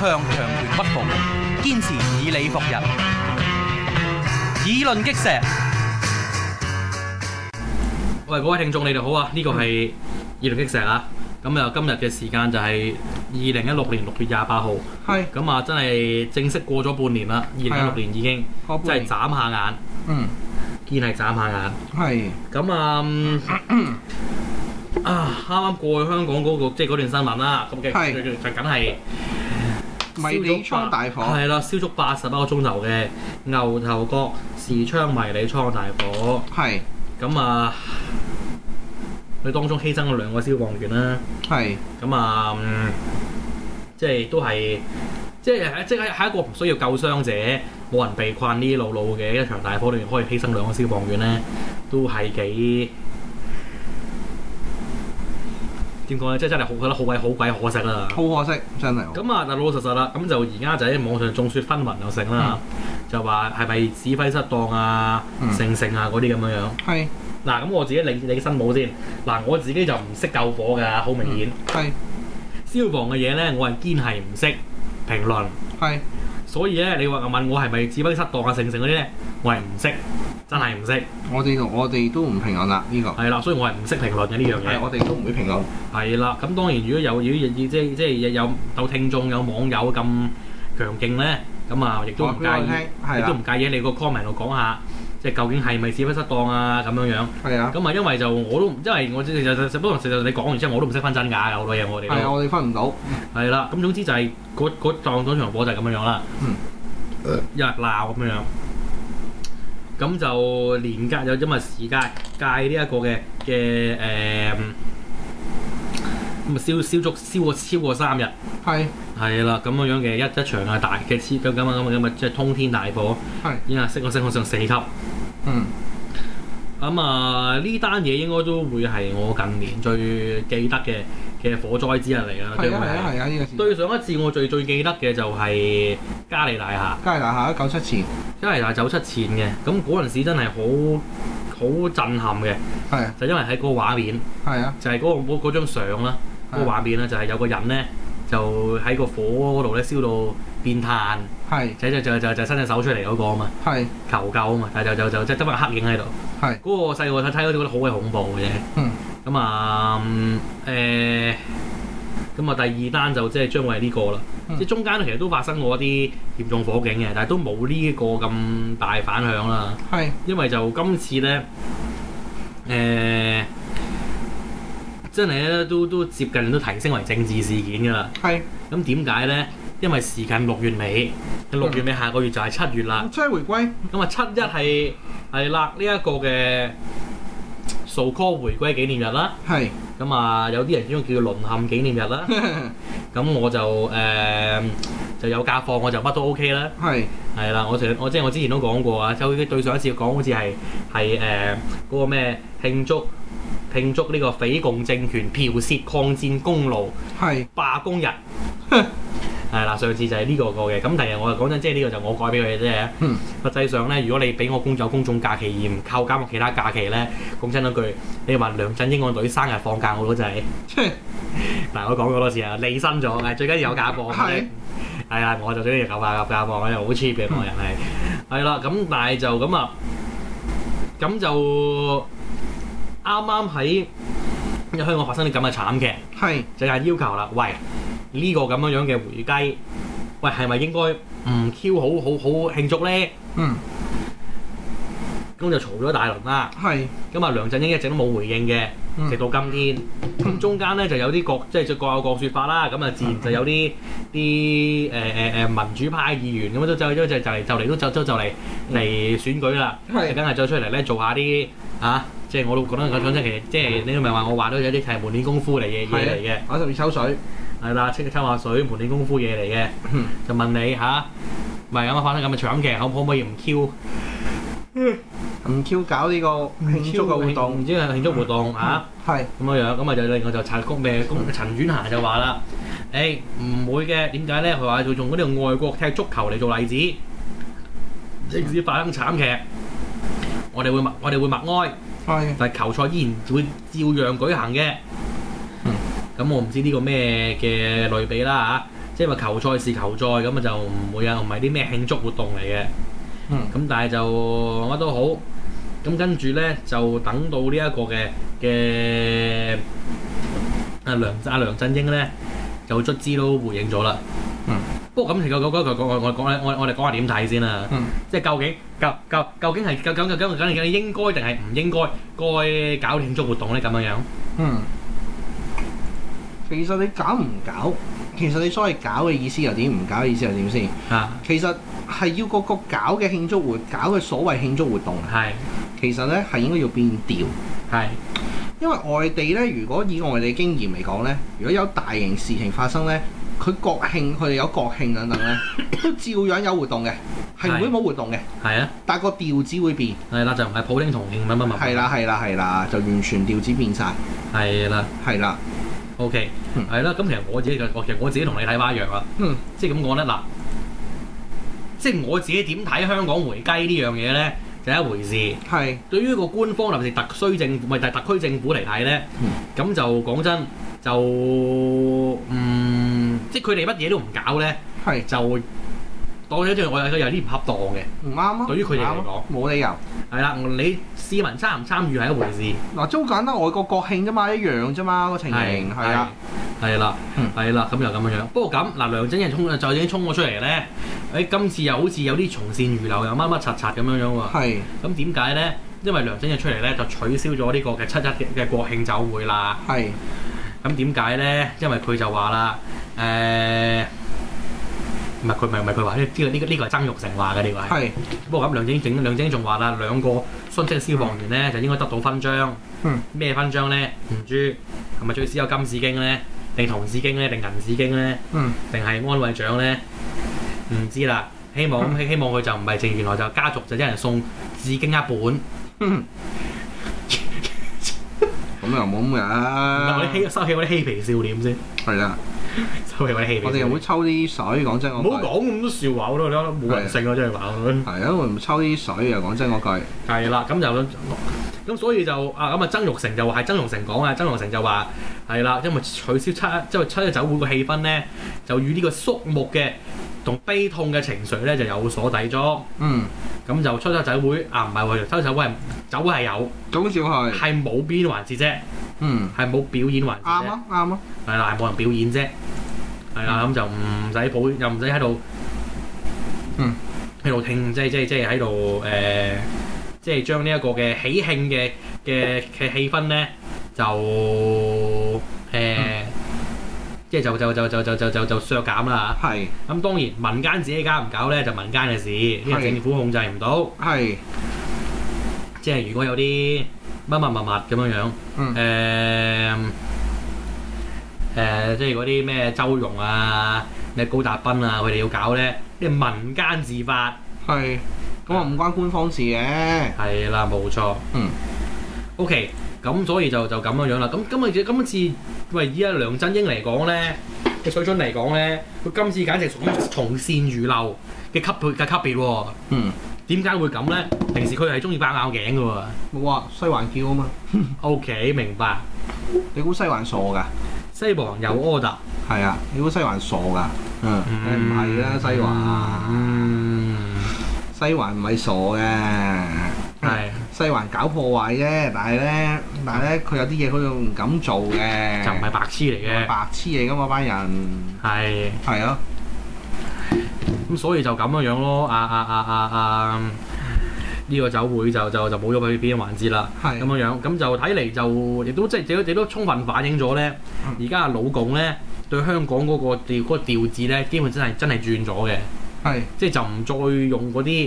強權屈服，堅持以理服人，議論擊石。喂，各位聽眾，你哋好啊！呢個係議論擊石啊！咁啊，今日嘅時間就係2016年6月28號。係。咁啊，真係正式過咗半年啦！2016年已經，真係眨下眼。嗯。堅係眨下眼。係。咁啊，啱啱過去香港嗰個即係嗰段新聞啦。咁嘅就梗係迷你倉大火。 係啦，燒足81個鐘頭嘅牛頭角時昌迷你倉大火。係。咁啊，佢當中犧牲咗2個消防員啦。係。咁啊，即係都係，即係一個唔需要救傷者，冇人被困呢路路嘅一場大火裏面，可以犧牲2個消防員咧，都係幾點講咧？即係真係覺得好鬼可惜啦！ 好可惜，真係。 咁啊，但老老實實啦，咁就而家就喺網上眾說紛紜又成啦。就話係咪指揮失當啊、成啊嗰啲咁樣樣？係。嗱，咁我自己理身冇先。嗱，我自己就唔識救火㗎，好明顯。係。消防嘅嘢咧，我係堅係唔識評論。係。所以咧，你話問我係咪指揮失當啊、成嗰啲咧，我係唔識，真係唔識。我哋都唔評論啦，呢個。係啦，所以我係唔識評論嘅呢樣嘢。係，我哋都唔會評論。係啦，咁當然如果有即係有聽眾有網友咁強勁咧。咁啊，亦都唔介意，亦都唔介意你個 comment 度講下，即係究竟係咪指揮失當啊咁樣樣。係啊。咁啊，因為就我都，因為我不過實你講完之後，我都唔識分真假㗎，好多嘢我哋。係啊，我哋分唔到。係啦，咁總之就係嗰場火就係咁樣樣啦。一日鬧咁樣樣。咁就連隔有因為時間界呢一個嘅咁啊燒超過3日，係啦咁樣嘅一場啊大嘅咁即係通天大火，已經升上4級。咁啊呢單嘢應該都會係我近年最記得嘅火災之一嚟啦。係啊呢個事。對上一次我最記得嘅就係嘉利大廈。嘉利大廈97前。嘉利大廈97前嘅，咁嗰陣時真係好震撼嘅。係。就因為喺嗰個畫面。係啊。就係嗰張相啦。嗰個畫面咧就係有個人咧就喺個火嗰度咧燒到變炭，就伸隻手出嚟嗰個啊嘛，求救啊嘛，但係就即係得翻黑影喺度。嗰個細個睇嗰啲覺得好鬼恐怖嘅啫。咁啊咁啊第二單就即係將會係呢個啦。即係中間其實都發生過一啲嚴重火警嘅，但係都冇呢個咁大反響啦。因為就今次咧真係咧都接近都提升為政治事件㗎啦。係。咁點解咧？因為時近6月尾，6月尾下個月就係7月啦。7回歸。咁啊7·1係啦，呢一個嘅so call回歸紀念日啦。係。咁啊有啲人中意叫做淪陷紀念日啦。咁我就有假放，我就乜都 OK 啦。係。係啦，我之前都講過啊，就對上一次講好似係嗰個咩慶祝呢個匪共政權剽竊抗戰功勞罷工日，係啦，上次就係呢個嘅。咁第日我就講真，即係呢個就我改俾佢嘅啫。實際上咧，如果你俾我有公眾假期而唔扣減我其他假期咧，講真嗰句，你話梁振英個女生日放假我都真係。嗱，我講過好多次啊，離身咗，最緊要有假放。係啊，我就最緊要有假放，因為好 cheap 嘅個人係。係啦，咁但係就咁啊，咁就。啱啱喺香港發生啲咁嘅慘劇，就係要求啦，喂呢個咁樣嘅回歸，喂係咪應該唔 Q 好慶祝咧？咁就嘈咗大輪啦。咁啊梁振英一直都冇回應嘅，直到今天。咁中間咧就有啲各有各説法啦。咁啊自然就有啲民主派議員咁就嚟選舉啦。梗係再出嚟咧做下啲即係我都覺得講真，其實即係你都咪話我話都有啲係門練功夫嚟嘅嘢嚟嘅，我就要抽水，係啦，抽下水，門練功夫嘢嚟嘅，就問你咪咁發生咁嘅慘劇，可唔可以唔 Q？唔 Q 搞呢個慶祝嘅活動，唔知係慶祝活動係咁樣樣，咁啊就另外就陳婉嫻就話啦，唔會嘅，點解咧？佢話用嗰啲外國踢足球嚟做例子，即使發生慘劇，我哋會默哀。但係球賽依然會照樣舉行嘅。咁我唔知呢個咩嘅類比啦即係話球賽是球賽咁啊，就唔會啊，唔係啲咩慶祝活動嚟嘅。咁但係就乜都好，咁跟住咧就等到呢一個嘅梁振英咧就卒之都回應咗啦。不過咁其實我哋講下點睇先啦。即係究竟係應該定係唔應該搞慶祝活動咧？咁樣。 其實你搞唔搞？其實你所謂搞嘅意思又點？唔搞嘅意思又點先？其實係要個搞嘅慶祝搞嘅所謂慶祝活動。其實咧係應該要變調。因為外地咧，如果以外地經驗嚟講咧，如果有大型事情發生咧，佢哋有國慶等等咧，都照樣有活動嘅，係唔會冇活動嘅。但係個調子會變。就唔係普京同慶乜。係啦，就完全調子變晒。係啦。 OK，係啦，咁其實我自己同你睇法一樣啦。即係咁講咧，嗱，即係我自己點睇香港回雞呢樣嘢咧，就係一回事。對於一個官方，尤其是特區政府嚟睇咧，咁就講真，就即係佢哋乜嘢都唔搞咧，就當咗我有啲唔恰當嘅， 唔啱啊！ 對於佢哋嚟講， 冇理由。係啦， 你市民參唔參與係一回事。 嗱，都簡單，外國國慶啫嘛，一樣啫嘛，個情形係啊， 係啦，咁又咁樣。不過咁嗱，梁振英就已經衝咗出嚟咧。今次又好似有啲從善如流，又乜乜柒柒咁樣喎。咁點解咧？因為梁振英出嚟咧，就取消咗呢個嘅7·1嘅國慶酒會啦。咁點解咧？因為佢就話啦，唔係佢話呢個係曾鈺成話嘅呢個係。不過咁梁振英仲話啦，兩個殉職消防員咧就應該得到勳章。咩勳章咧？唔知係咪最少有金紫荊咧，定銅紫荊咧，定銀紫荊咧？定係安慰獎咧？唔知啦。希望佢就唔係淨原來就家族就一人送紫荊一本。 咁又冇咁嘅。 我哋收起嗰啲嬉皮笑臉先。係啦。收起嗰啲嬉皮。我哋又會抽啲水，講真我。唔好講咁多笑話咯，你睇冇人性啊，真係話。 係啊，我唔抽啲水啊，講真嗰句。 係啦，咁所以就曾鈺成就話係曾鈺成講啊，曾鈺成就話係啦，因為取消7·1酒會個氣氛咧，就與呢個肅穆嘅同悲痛嘅情緒咧就有所抵觸。咁就7·1酒會唔係喎，7·1酒會係有， 總之係冇表演環節啫。係冇表演環節啫。 啱啊。 係啦，係冇人表演啫。係啦，咁就唔使又唔使喺度，喺度聽，即係喺度即係將呢一個嘅喜慶嘅氣氛咧，就即係就削減啦。咁當然民間自己搞唔搞咧，就民間嘅事，因為政府控制唔到。即係如果有啲乜咁樣，即係嗰啲咩周融啊、咩高達斌啊，佢哋要搞咧，啲民間自發。咁唔關官方事嘅。係啦，冇錯。OK，咁所以就咁樣啦。咁今次喂以梁振英嚟講咧嘅水準嚟講咧，佢今次簡直屬於從善如流嘅級別喎。點解會咁咧？平時佢係中意爆拗頸嘅喎。 冇啊，西環叫啊嘛。 OK，明白。 你估西環傻㗎？ 西環有 order。 係啊，你估西環傻㗎？唔係啦，西環。西環唔係傻嘅，西環搞破壞啫。但係咧，佢有啲嘢佢又唔敢做嘅。就唔係白痴嚟嘅。白痴嚟㗎嘛，班人。係啊。咁所以就咁樣咯。呢個酒會就冇咗佢表演環節啦。咁樣，咁就睇嚟就亦都即係亦都充分反映咗咧。而家老共咧對香港嗰個調子咧，基本真係轉咗嘅。即係就唔再用嗰啲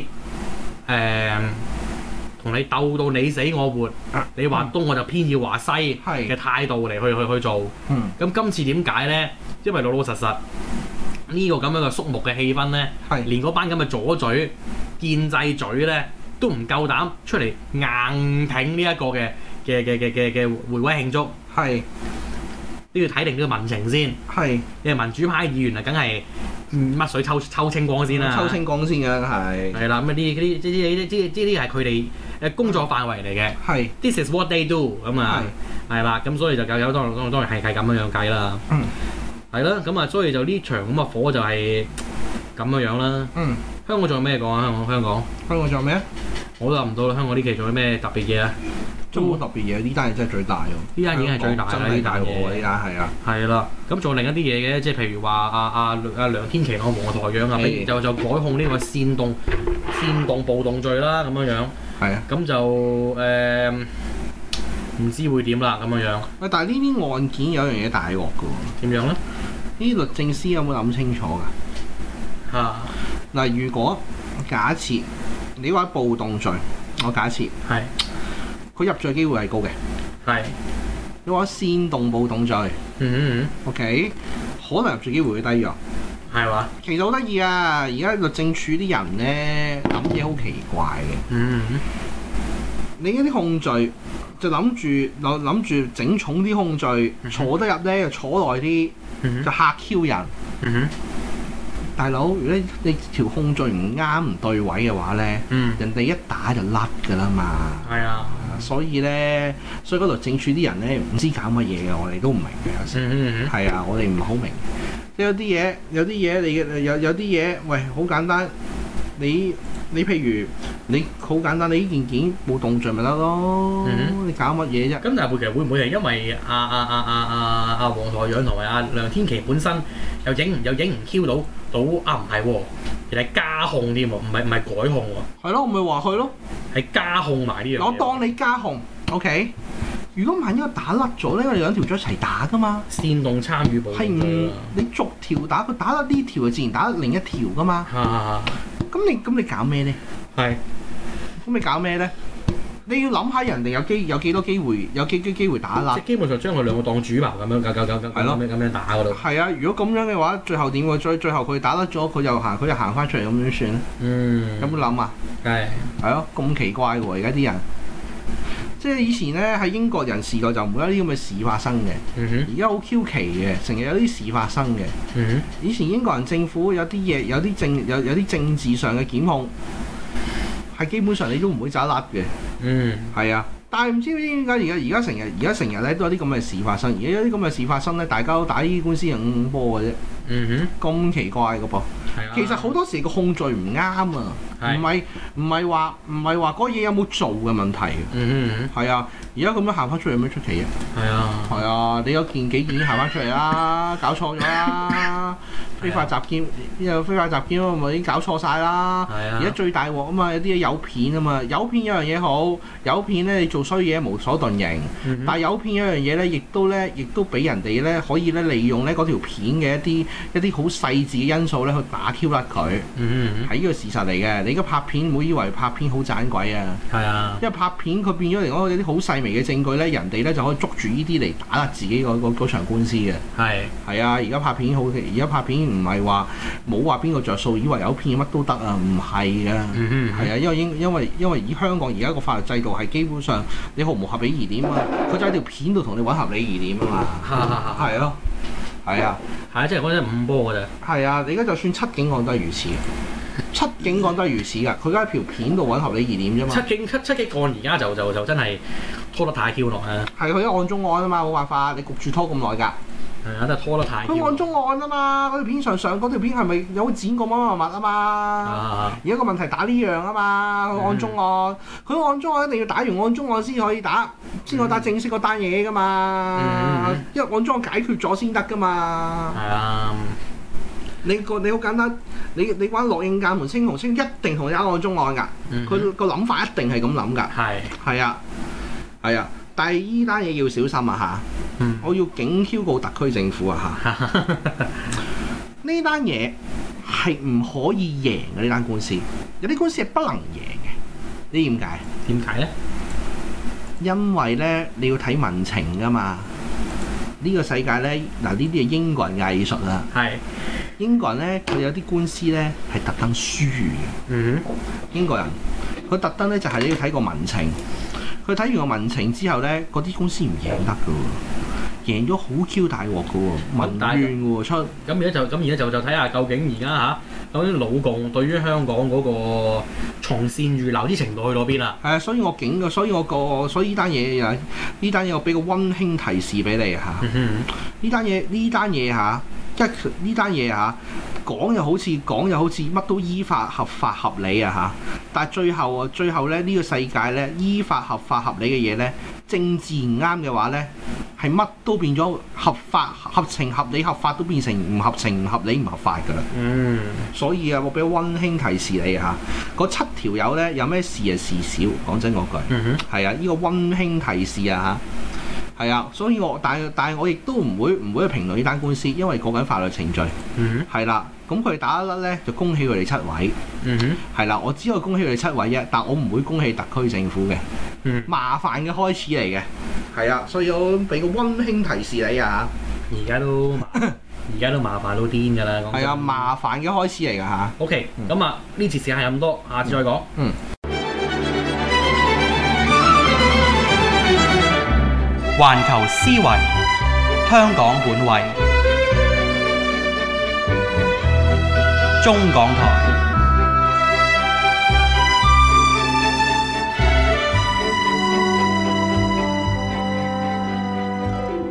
同你鬥到你死我活，你話東我就偏要話西嘅態度嚟去做。咁今次點解咧？因為老實呢個咁樣嘅肅穆嘅氣氛咧，連嗰班咁嘅左嘴建制嘴咧都唔夠膽出嚟硬挺呢一個嘅回歸慶祝。都要睇定呢個民情先。你係民主派議員啊，梗係乜水抽清光先啦。抽清光先㗎，係啦。咁呢啲係佢哋工作範圍嚟嘅。This is what they do 咁啊。係啦。咁所以就有當然係咁樣計啦。係係啦，咁啊，所以就呢場咁嘅火就係咁樣啦。香港仲有咩講啊？香港仲有咩啊？ 我都諗唔到啦。香港呢期仲有咩特別嘢啊？ 都冇特別嘢，呢單嘢真係最大喎。 呢單已經係最大啦，呢單嘢。 呢單係啊。係啦，咁仲有另一啲嘢嘅，即係譬如話阿梁天琦黃台仰啊，就改控呢個煽動暴動罪啦，咁樣。係啊。咁就唔知會點啦，咁樣。 喂，但係呢啲案件有樣嘢大鑊㗎喎。 點樣咧？ 呢律政司有冇諗清楚㗎？嗱，如果假設你話暴動罪，我假設係佢入罪機會係高嘅，係你話煽動暴動罪，OK， 可能入罪機會會低咗，係嘛？其實好得意啊！而家律政處啲人咧諗嘢好奇怪嘅，你嗰啲控罪就諗住整重啲控罪，坐得入咧就坐耐啲，就嚇 Q 人。大佬，如果你條控罪唔啱唔對位嘅話咧，人哋一打就甩㗎啦嘛。係啊，所以嗰律政處啲人咧唔知搞乜嘢嘅，我哋都唔明嘅有時。係啊，我哋唔係好明。即係有啲嘢，有啲嘢，喂，好簡單。你譬如你好簡單，你呢件冇動罪咪得咯？你搞乜嘢啫？咁但係其實會唔會係因為黃台仰同埋阿梁天琦本身又影唔 Q 到啊？唔係喎，人係加控添喎，唔係改控喎。係咯，我咪話佢咯，係加控埋呢樣嘢。我當你加控 ，OK。如果萬一打甩咗咧，我哋兩條咗一齊打噶嘛。煽動參與暴動。係唔你逐條打，佢打甩呢條就自然打甩另一條噶嘛。咁你搞咩咧？係。咁你搞咩咧？你要諗下人哋有幾多機會打甩。即係基本上將佢兩個當主謀咁樣，咁樣打嗰度。係啊，如果咁樣嘅話，最後點喎？最後佢打甩咗，佢又行翻出嚟咁樣算咧？有冇諗啊？係咯，咁奇怪喎！而家啲人。即係以前咧喺英國人試過就唔會有啲咁嘅事發生嘅，而家好 Q 奇嘅，成日有啲事發生嘅。以前英國人政府有啲嘢，有啲政治上嘅檢控，係基本上你都唔會走甩嘅。係啊，但係唔知點解而家成日咧都有啲咁嘅事發生，而家有啲咁嘅事發生咧，大家都打呢啲官司係5波嘅啫。咁奇怪嘅噃。其實好多時個控罪唔啱啊，唔係話嗰嘢有冇做嘅問題。係啊，而家咁樣行翻出嚟有咩出奇啊？係啊，你有幾件行翻出嚟啦，搞錯咗啦，非法集結咪已經搞錯晒啦。而家最大鑊啊嘛，有啲嘢有片啊嘛，有片有樣嘢好，有片咧你做衰嘢無所遁形，但係有片有樣嘢咧，亦都俾人哋咧可以咧利用咧嗰條片嘅一啲好細緻嘅因素咧去打 Q 甩佢，係呢個事實嚟嘅。你而家拍片唔好以為拍片好盞鬼啊！係啊，因為拍片佢變咗嚟講有啲好細微嘅證據咧，人哋咧就可以捉住呢啲嚟打甩自己嗰場官司嘅。係啊，而家拍片唔係話冇話邊個着數，以為有片乜都得啊，唔係嘅。係啊，因為以香港而家個法律制度係基本上你毫無合理疑點啊，佢就喺條片度同你揾合理疑點啊嘛。係咯。係啊，即係講真5波嘅啫。係啊，你而家就算7警案都係如此，七警案都係如此㗎。佢而家喺條片度揾合理疑點啫嘛。七警案而家就真係拖得太 Q 耐啦。係佢一案中案啊嘛，冇辦法，你焗住拖咁耐㗎。係啊，真係拖得太。佢案中案啊嘛，嗰條片上嗰條片係咪有剪過乜乜物啊嘛？而家個問題打呢樣啊嘛，佢案中案，佢案中案一定要打完案中案先可以打正式嗰單嘢㗎嘛。因為案中案解決咗先得㗎嘛。係啊。你好簡單，你玩樂應鑑門青紅青一定同你打案中案㗎。佢個諗法一定係咁諗㗎。係啊。係啊。但係依單嘢要小心啊嚇！我要警cáo告特區政府啊嚇！呢單嘢係唔可以贏嘅，呢單官司，有啲官司係不能贏嘅。呢點解？點解咧？因為咧你要睇民情㗎嘛。呢個世界咧嗱，呢啲係英國人嘅藝術啦。係英國人咧，佢有啲官司咧係特登輸嘅。英國人佢特登咧就係你要睇個民情。佢睇完個民情之後咧，嗰啲公司唔贏得㗎喎，贏咗好 Q 大鑊㗎喎，民怨喎出。咁而家就睇下究竟而家究竟老共對於香港嗰個從善如流啲程度去到邊啦？係啊，所以呢單嘢我俾個溫馨提示俾你嚇。呢單嘢呢單嘢嚇講又好似乜都依法合法合理啊嚇，但係最後咧呢個世界咧依法合法合理嘅嘢咧，政治唔啱嘅話咧，係乜都變咗合法合情合理合法都變成唔合情唔合理唔合法㗎啦。所以啊，我俾個溫馨提示你嚇，嗰7條友咧有咩事啊事少，講真嗰句。係啊，呢個溫馨提示啊嚇。係啊，所以但係我亦都唔會去評論呢單官司，因為講緊法律程序。係啦，咁佢哋打得甩咧，就恭喜佢哋7位。係啦，我只可以恭喜佢哋7位啫，但我唔會恭喜特區政府嘅。麻煩嘅開始嚟嘅。係啊，所以我俾個溫馨提示你啊。 而家都麻煩到癲㗎啦。 係啊，麻煩嘅開始嚟㗎嚇。 OK，咁啊，呢次時間係咁多，下次再講。 環球思維，香港本位，中港台。